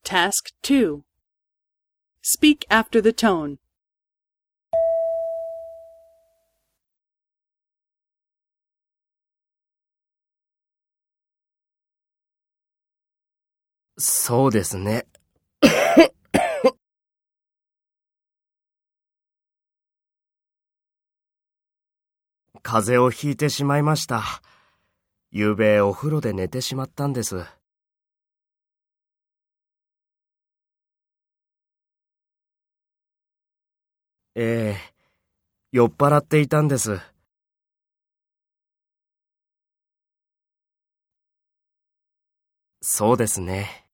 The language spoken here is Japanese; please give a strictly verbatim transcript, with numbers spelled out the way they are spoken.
Task two. Speak after the tone. そうですね。風邪をひいてしまいました。ゆうべお風呂で寝てしまったんです。ええ、酔っ払っていたんです。そうですね。